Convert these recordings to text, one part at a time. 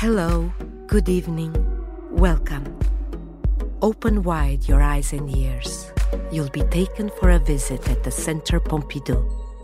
Hello, good evening, welcome. Open wide your eyes and ears. You'll be taken for a visit at the Centre Pompidou.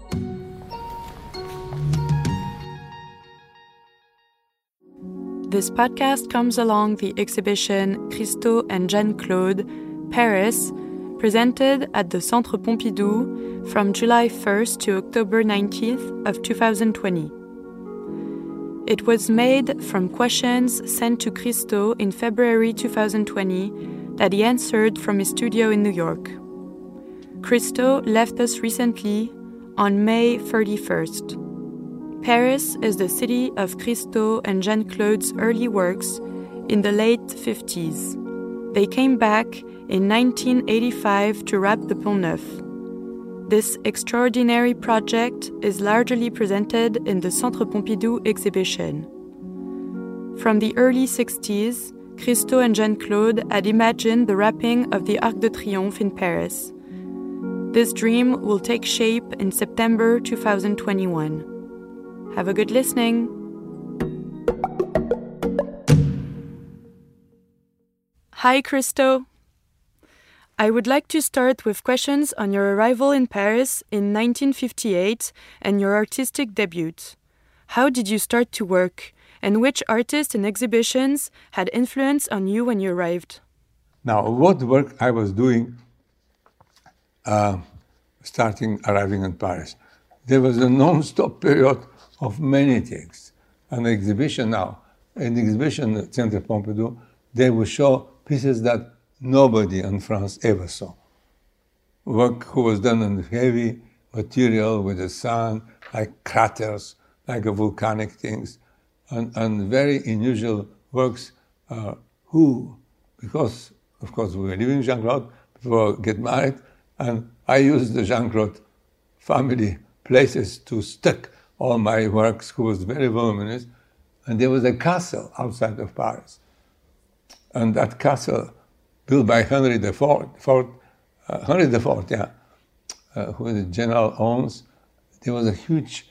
This podcast comes along the exhibition Christo and Jeanne-Claude, Paris, presented at the Centre Pompidou from July 1st to October 19th of 2020. It was made from questions sent to Christo in February 2020 that he answered from his studio in New York. Christo left us recently on May 31st. Paris is the city of Christo and Jeanne-Claude's early works in the late 50s. They came back in 1985 to wrap the Pont Neuf. This extraordinary project is largely presented in the Centre Pompidou exhibition. From the early 60s, Christo and Jeanne-Claude had imagined the wrapping of the Arc de Triomphe in Paris. This dream will take shape in September 2021. Have a good listening! Hi, Christo! I would like to start with questions on your arrival in Paris in 1958 and your artistic debut. How did you start to work, and which artists and exhibitions had influence on you when you arrived? Now, what work I was doing arriving in Paris? There was a non-stop period of many things. An exhibition at Centre Pompidou, they would show pieces that nobody in France ever saw. Work who was done in heavy material with the sun, like craters, like volcanic things, and very unusual works because of course we were living in Jeanne-Claude before I get married, and I used the Jeanne-Claude family places to stick all my works, who was very voluminous, and there was a castle outside of Paris. And that castle, built by Henry IV, who the general owns, there was a huge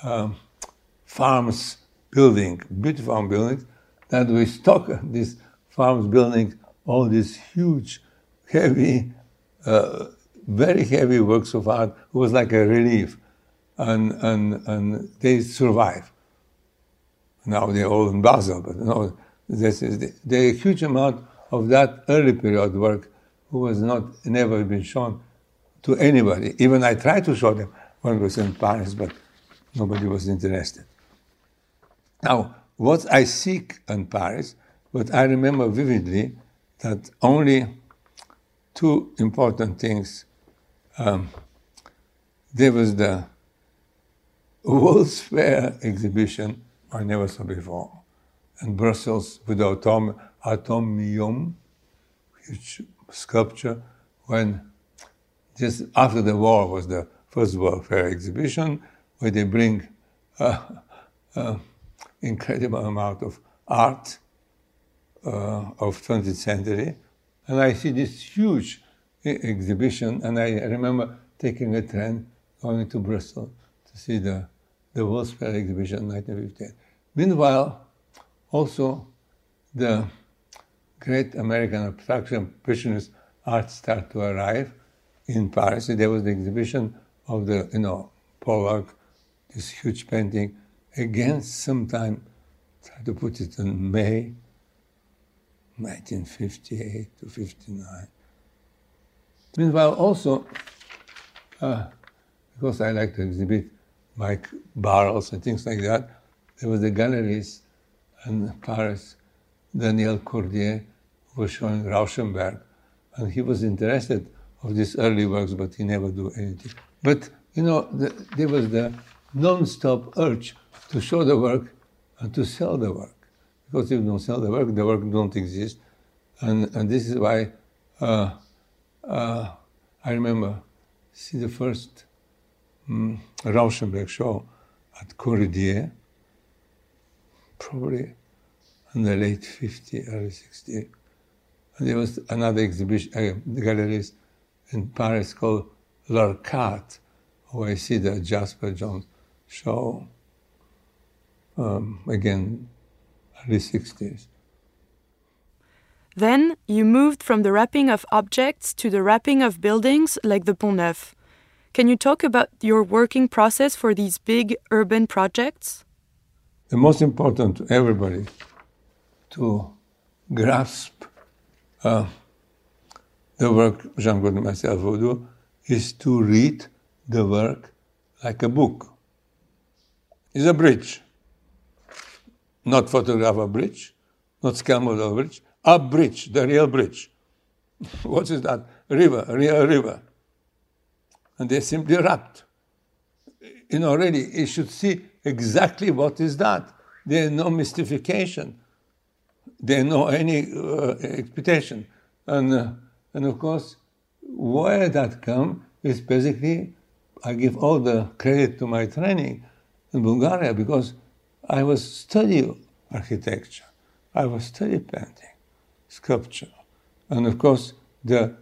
farms building, beautiful farm buildings, that we stock these farms buildings, all these huge, heavy, very heavy works of art. It was like a relief, and they survive. Now they're all in Basel, but no, there's a huge amount of that early period work who was never been shown to anybody. Even I tried to show them when I was in Paris, but nobody was interested. Now, what I seek in Paris, but I remember vividly that only two important things. There was the World's Fair exhibition I never saw before in Brussels with the Atomium, huge sculpture, when just after the war was the first World Fair exhibition, where they bring incredible amount of art of 20th century. And I see this huge exhibition, and I remember taking a train going to Brussels to see the World's Fair exhibition in 1958. Meanwhile, also the great American abstraction impressionist art started to arrive in Paris. There was the exhibition of the, Pollock, this huge painting, again sometime, try to put it in May 1958 to 59. Meanwhile, also, because I like to exhibit Mike barrels and things like that, there was the galleries in Paris, Daniel Cordier, who was showing Rauschenberg, and he was interested of these early works, but he never do anything. But, there was the non-stop urge to show the work and to sell the work. Because if you don't sell the work don't exist. And this is why I remember see the first Rauschenberg show at Cordier, probably in the late 50s, early 60s. And there was another exhibition, galleries in Paris called L'Arcade, where I see the Jasper Johns show. Again, early 60s. Then you moved from the wrapping of objects to the wrapping of buildings like the Pont Neuf. Can you talk about your working process for these big urban projects? The most important to everybody to grasp the work Jean-Claude and myself will do is to read the work like a book. It's a bridge. Not photograph a bridge, not scale model bridge, a bridge, the real bridge. What is that? River, a real river. And they're simply wrapped. Really, you should see exactly what is that. There's no mystification. There's no any expectation. And of course, where that comes is basically, I give all the credit to my training in Bulgaria because I was studying architecture, I was studying painting, sculpture, and of course the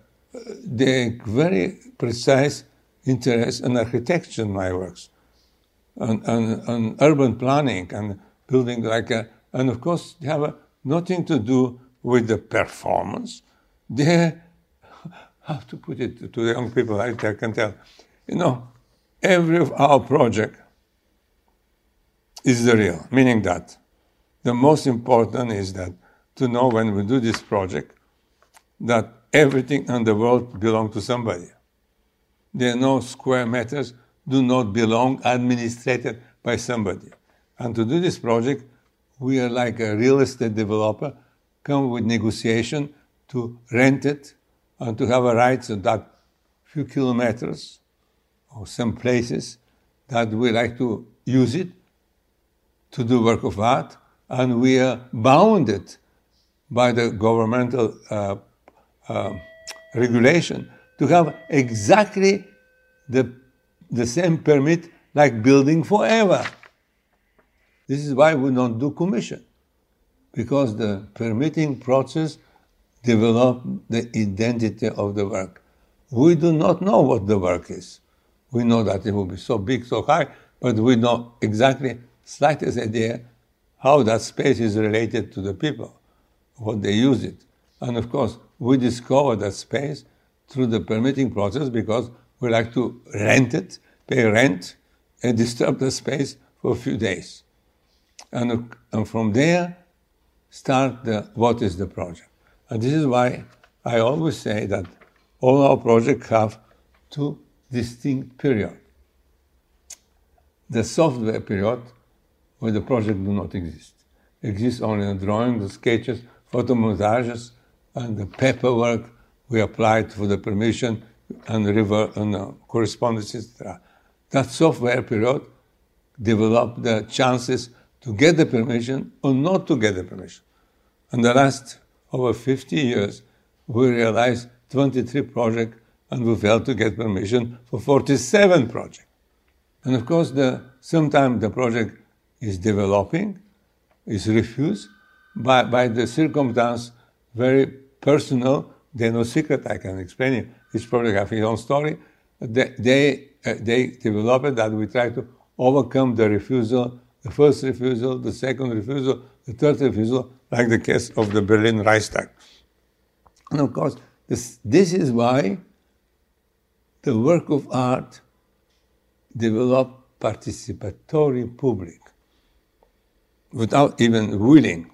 very precise interest in architecture in my works, on urban planning and building and of course they have nothing to do with the performance. They have to put it to the young people, I can tell. Every of our project is the real, meaning that the most important is that to know when we do this project that everything in the world belongs to somebody. There are no square meters do not belong administrated by somebody. And to do this project, we are like a real estate developer, come with negotiation to rent it and to have a right to that few kilometers or some places that we like to use it to do work of art, and we are bounded by the governmental regulation to have exactly the same permit like building forever. This is why we don't do commission, because the permitting process develops the identity of the work. We do not know what the work is. We know that it will be so big, so high, but we don't exactly slightest idea how that space is related to the people, what they use it. And of course, we discover that space through the permitting process because we like to rent it, pay rent, and disturb the space for a few days. And from there, start what is the project. And this is why I always say that all our projects have two distinct periods. The software period, where the project do not exist. Exists only the drawing, the sketches, photomontages, and the paperwork we applied for the permission and correspondence, etc. That software period developed the chances to get the permission or not to get the permission. In the last over 50 years, we realized 23 projects and we failed to get permission for 47 projects. And of course, sometimes the project is developing, is refused by the circumstance, very personal. There's no secret, I can explain it. Each project has its own story. They develop it that we try to overcome the refusal, the first refusal, the second refusal, the third refusal, like the case of the Berlin Reichstag. And of course, this is why the work of art developed participatory public without even willing.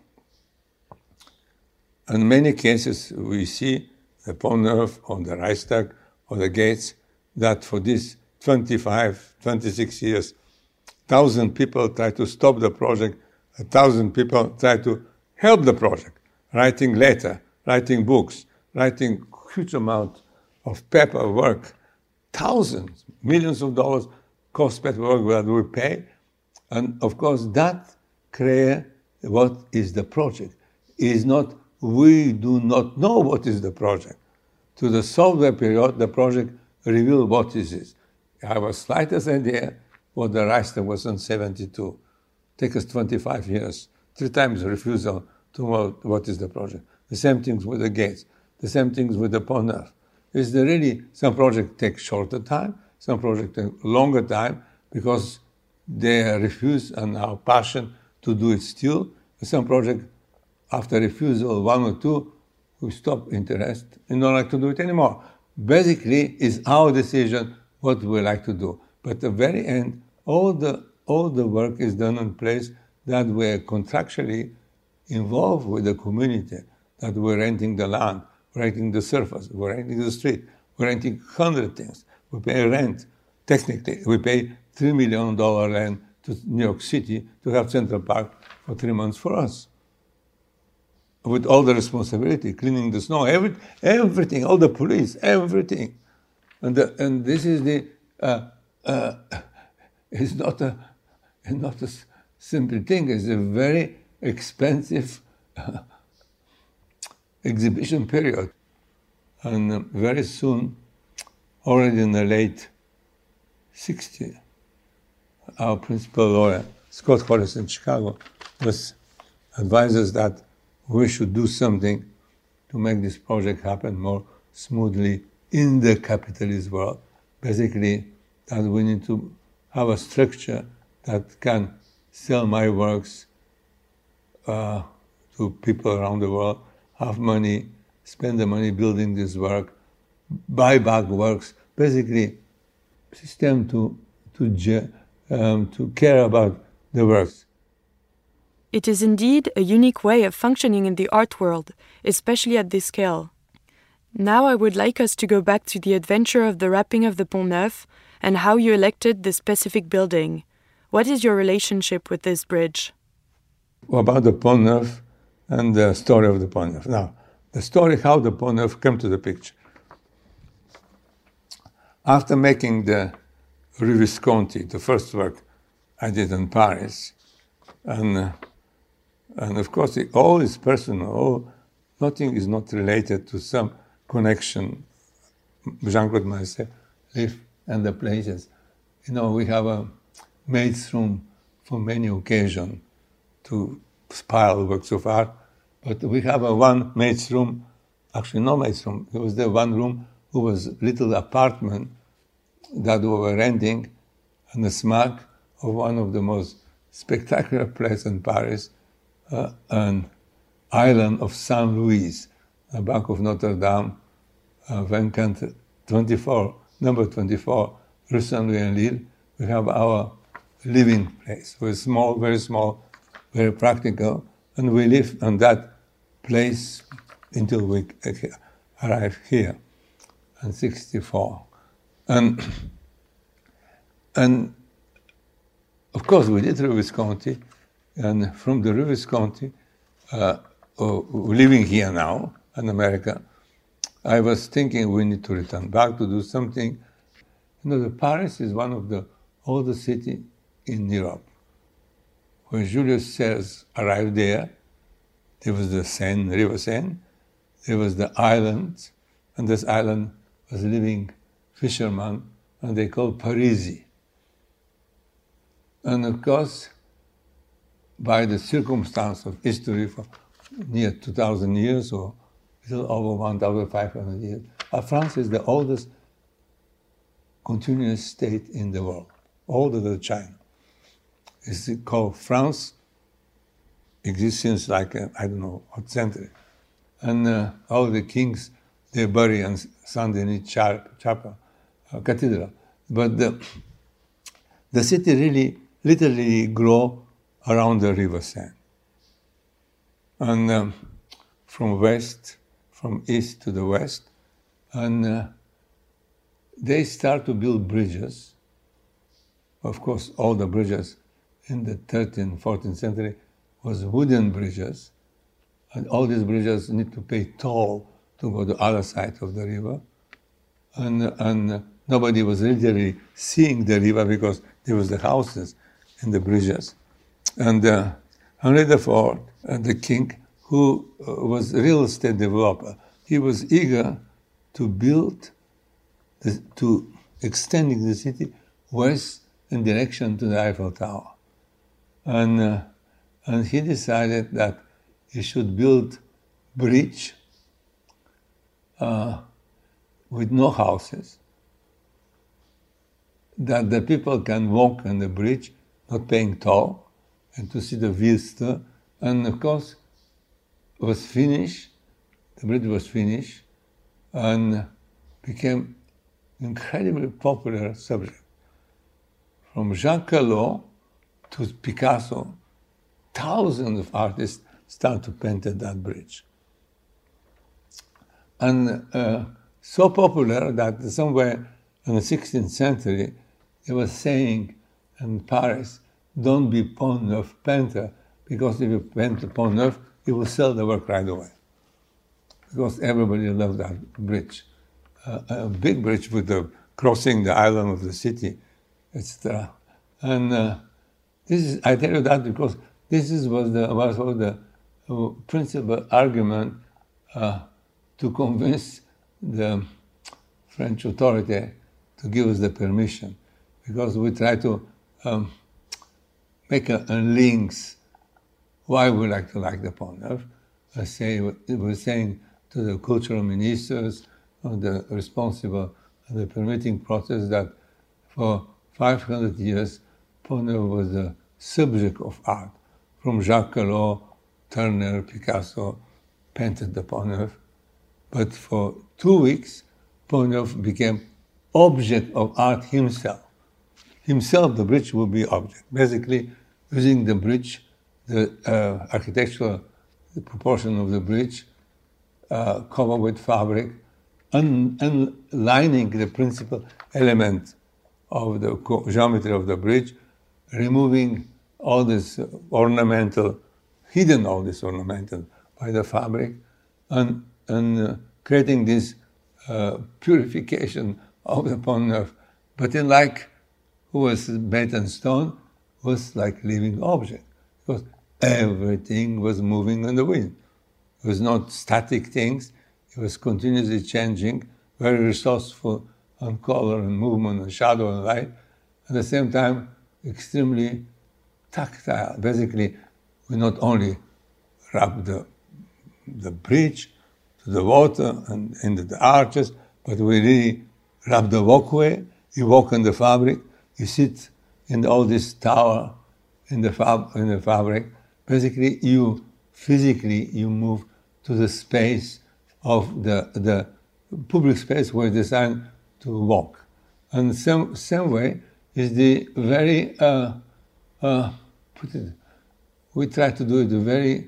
In many cases, we see the Pont Neuf or the Reichstag or the gates that for these 25, 26 years, 1,000 people try to stop the project, 1,000 people try to help the project, writing letter, writing books, writing huge amount of paperwork, thousands, millions of dollars cost paperwork that we pay. And of course, that creates what is the project. It is not, we do not know what is the project. To the software period, the project revealed what is it. I have a slightest idea what the Reichstag was in 72. Take us 25 years, 3 times refusal to know what is the project. The same things with the gates, the same things with the Pont Neuf. Is there really, some projects take shorter time, some projects take longer time because they refuse and our passion to do it still. Some project, after refusal, one or two, we stop interest and don't like to do it anymore. Basically, it's our decision what we like to do. But at the very end, all the work is done in place that we're contractually involved with the community, that we're renting the land, we're renting the surface, we're renting the street, we're renting 100 things. We pay rent. Technically, we pay $3 million rent to New York City to have Central Park for 3 months for us. With all the responsibility, cleaning the snow, everything, all the police, everything. And this is the, it's not a simple thing, it's a very expensive exhibition period. And very soon, already in the late 60s, our principal lawyer, Scott Horace in Chicago, was advised us that we should do something to make this project happen more smoothly in the capitalist world. Basically, that we need to have a structure that can sell my works to people around the world, have money, spend the money building this work, buy back works, basically system to care about the works. It is indeed a unique way of functioning in the art world, especially at this scale. Now I would like us to go back to the adventure of the wrapping of the Pont Neuf and how you elected the specific building. What is your relationship with this bridge? About the Pont Neuf and the story of the Pont Neuf. Now, the story how the Pont Neuf came to the picture. After making the Rue Visconti, the first work I did in Paris, and of course all is personal, nothing is not related to some connection Jean-Claude and myself live and the places. You know, we have a maid's room for many occasions to pile works of art, but we have a one maid's room, actually no maid's room, it was the one room who was little apartment that we were renting on the smack of one of the most spectacular places in Paris, an island of Saint Louis, the back of Notre Dame, Vacant 24, number 24, Rue Saint-Louis-en-Lille. We have our living place. We're small, very practical, and we live on that place until we arrive here in 1964. And of course, we did Rue Visconti, and from the Rue Visconti, living here now in America, I was thinking we need to return back to do something. You know, Paris is one of the oldest cities in Europe. When Julius Caesar arrived there was the Seine, River Seine, there was the island, and this island was living fishermen, and they called Parisi. And of course, by the circumstance of history for near 2,000 years or a little over 1,500 years, France is the oldest continuous state in the world, older than China. It's called France, exists since like, I don't know, what century. And all the kings, they bury in Saint-Denis Chapel, Cathedral. But the city really literally grew around the River Seine. And from east to the west, and they start to build bridges. Of course, all the bridges in the 13th, 14th century was wooden bridges, and all these bridges need to pay toll to go to the other side of the river. And nobody was literally seeing the river because there was the houses and the bridges. And Henry IV, the king, who was a real estate developer, he was eager to build, to extending the city west in direction to the Eiffel Tower. And he decided that he should build bridge with no houses, that the people can walk on the bridge, not paying toll, and to see the vista And of course, it was finished, the bridge was finished, and became incredibly popular subject. From Jacques Callot to Picasso, thousands of artists started to paint at that bridge. And so popular that somewhere in the 16th century, they were saying in Paris, don't be Pont Neuf painter, because if you paint the Pont Neuf, you will sell the work right away. Because everybody loved that bridge. A big bridge with the crossing the island of the city, etc. And this is, I tell you that because this was the principal argument to convince the French authority to give us the permission, because we try to make a links why we like the Pont Neuf. We're saying to the cultural ministers, the responsible of the permitting process, that for 500 years, Pont Neuf was the subject of art. From Jacques Callot, Turner, Picasso painted the Pont Neuf. But for 2 weeks, Pont Neuf became object of art himself. Himself, the bridge will be object. Basically, using the bridge, the architectural proportion of the bridge, covered with fabric, and lining the principal element of the geometry of the bridge, removing all this hidden all this ornamental by the fabric, and creating this purification of the Pont Neuf. But then, like who was made in stone, was like living object, because everything was moving in the wind. It was not static things. It was continuously changing, very resourceful on color and movement and shadow and light. At the same time, extremely tactile. Basically, we not only rub the bridge to the water and into the arches, but we really rub the walkway. You walk in the fabric. You sit in all this tower in the fabric. Basically, you physically move to the space of the public space where it's designed to walk. And same way is the very we try to do it very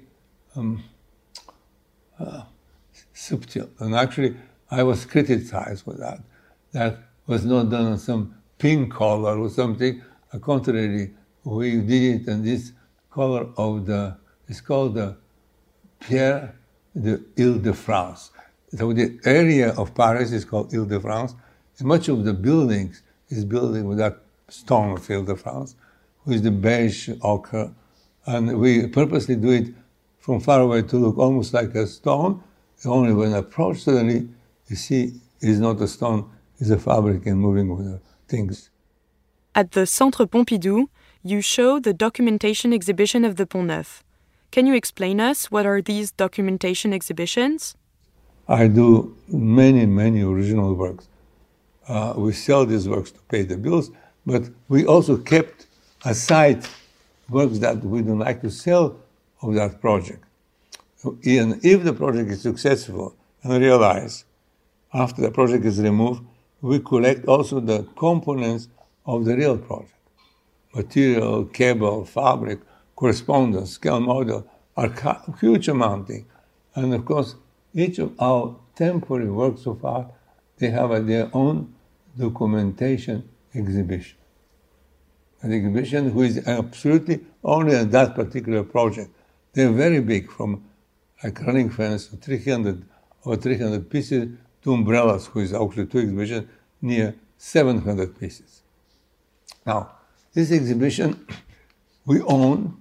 subtle. And actually, I was criticized for that. That was not done on some pink color or something. On the contrary, we did it in this color of it's called the Pierre de Ile-de-France. So the area of Paris is called Ile-de-France, and much of the buildings is built with that stone of Ile-de-France, which is the beige ochre. And we purposely do it from far away to look almost like a stone. Only when approached, suddenly you see it's not a stone, it's a fabric and moving with the things. At the Centre Pompidou, you show the documentation exhibition of the Pont Neuf. Can you explain us what are these documentation exhibitions? I do many, many original works. We sell these works to pay the bills, but we also kept aside works that we don't like to sell of that project. And if the project is successful and realized, after the project is removed, we collect also the components of the real project. Material, cable, fabric, correspondence, scale model are huge amounting. And of course, each of our temporary works of art, they have their own documentation exhibition. An exhibition which is absolutely only on that particular project. They're very big, from like running fence to 300 pieces to umbrellas, which is actually two exhibitions, near 700 pieces. Now, this exhibition we own.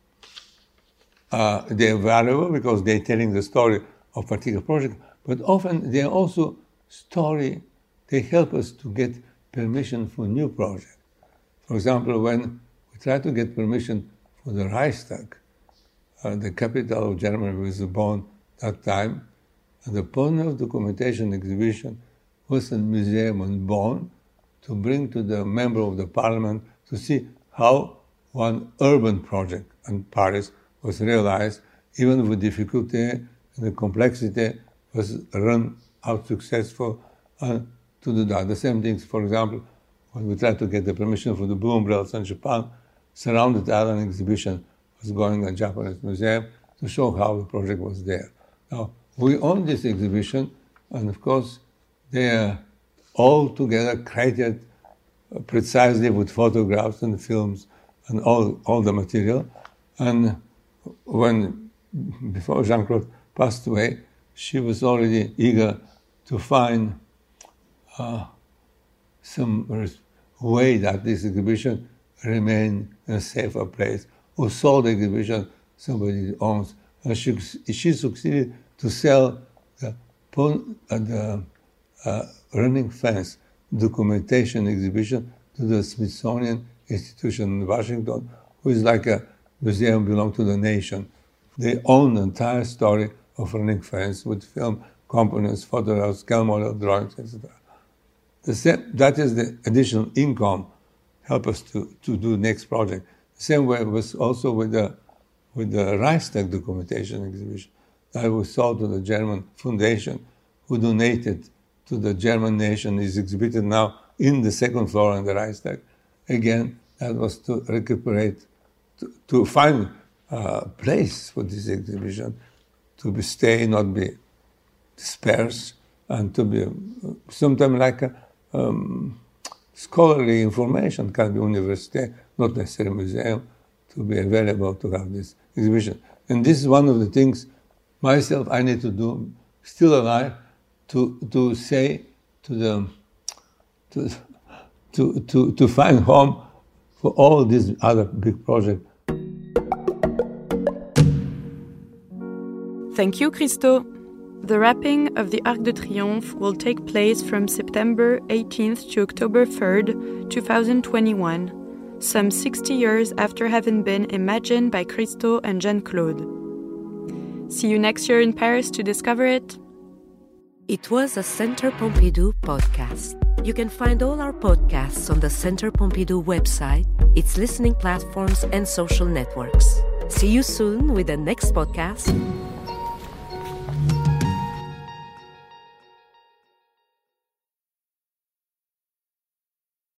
They're valuable because they're telling the story of a particular project, but often they're also they help us to get permission for new projects. For example, when we try to get permission for the Reichstag, the capital of Germany was born that time, and the Pont Neuf documentation exhibition was a museum in Bonn to bring to the member of the parliament to see how one urban project in Paris was realized, even with difficulty and the complexity, was run out successful and to do that. The same things, for example, when we tried to get the permission for the Blue Umbrellas in Japan, Surrounded Island exhibition was going at Japanese museum to show how the project was there. Now, we own this exhibition, and of course, they are all together created precisely with photographs and films and all the material. And before Jean-Claude passed away, she was already eager to find some way that this exhibition remain in a safer place. Who sold the exhibition, somebody owns. And she succeeded to sell the running fence documentation exhibition to the Smithsonian Institution in Washington, who is like a museum belong to the nation. They own the entire story of running fence with film components, photographs, scale model drawings, etc. That is the additional income help us to do next project. The same way it was also with the Reichstag documentation exhibition that was sold to the German Foundation, who donated to the German nation, is exhibited now in the second floor in the Reichstag. Again, that was to recuperate, to find a place for this exhibition, to stay, not be dispersed, and to be sometimes like a scholarly information, can be university, not necessarily museum, to be available to have this exhibition. And this is one of the things myself I need to do, still alive, to say to find home for all these other big projects. Thank you, Christo. The wrapping of the Arc de Triomphe will take place from September 18th to October 3rd, 2021, some 60 years after having been imagined by Christo and Jean-Claude. See you next year in Paris to discover it. It was a Centre Pompidou podcast. You can find all our podcasts on the Centre Pompidou website, its listening platforms, and social networks. See you soon with the next podcast.